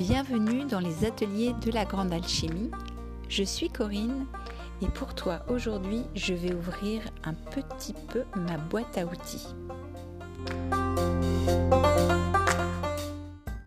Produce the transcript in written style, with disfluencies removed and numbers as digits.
Bienvenue dans les ateliers de la Grande Alchimie. Je suis Corinne et pour toi aujourd'hui, je vais ouvrir un petit peu ma boîte à outils.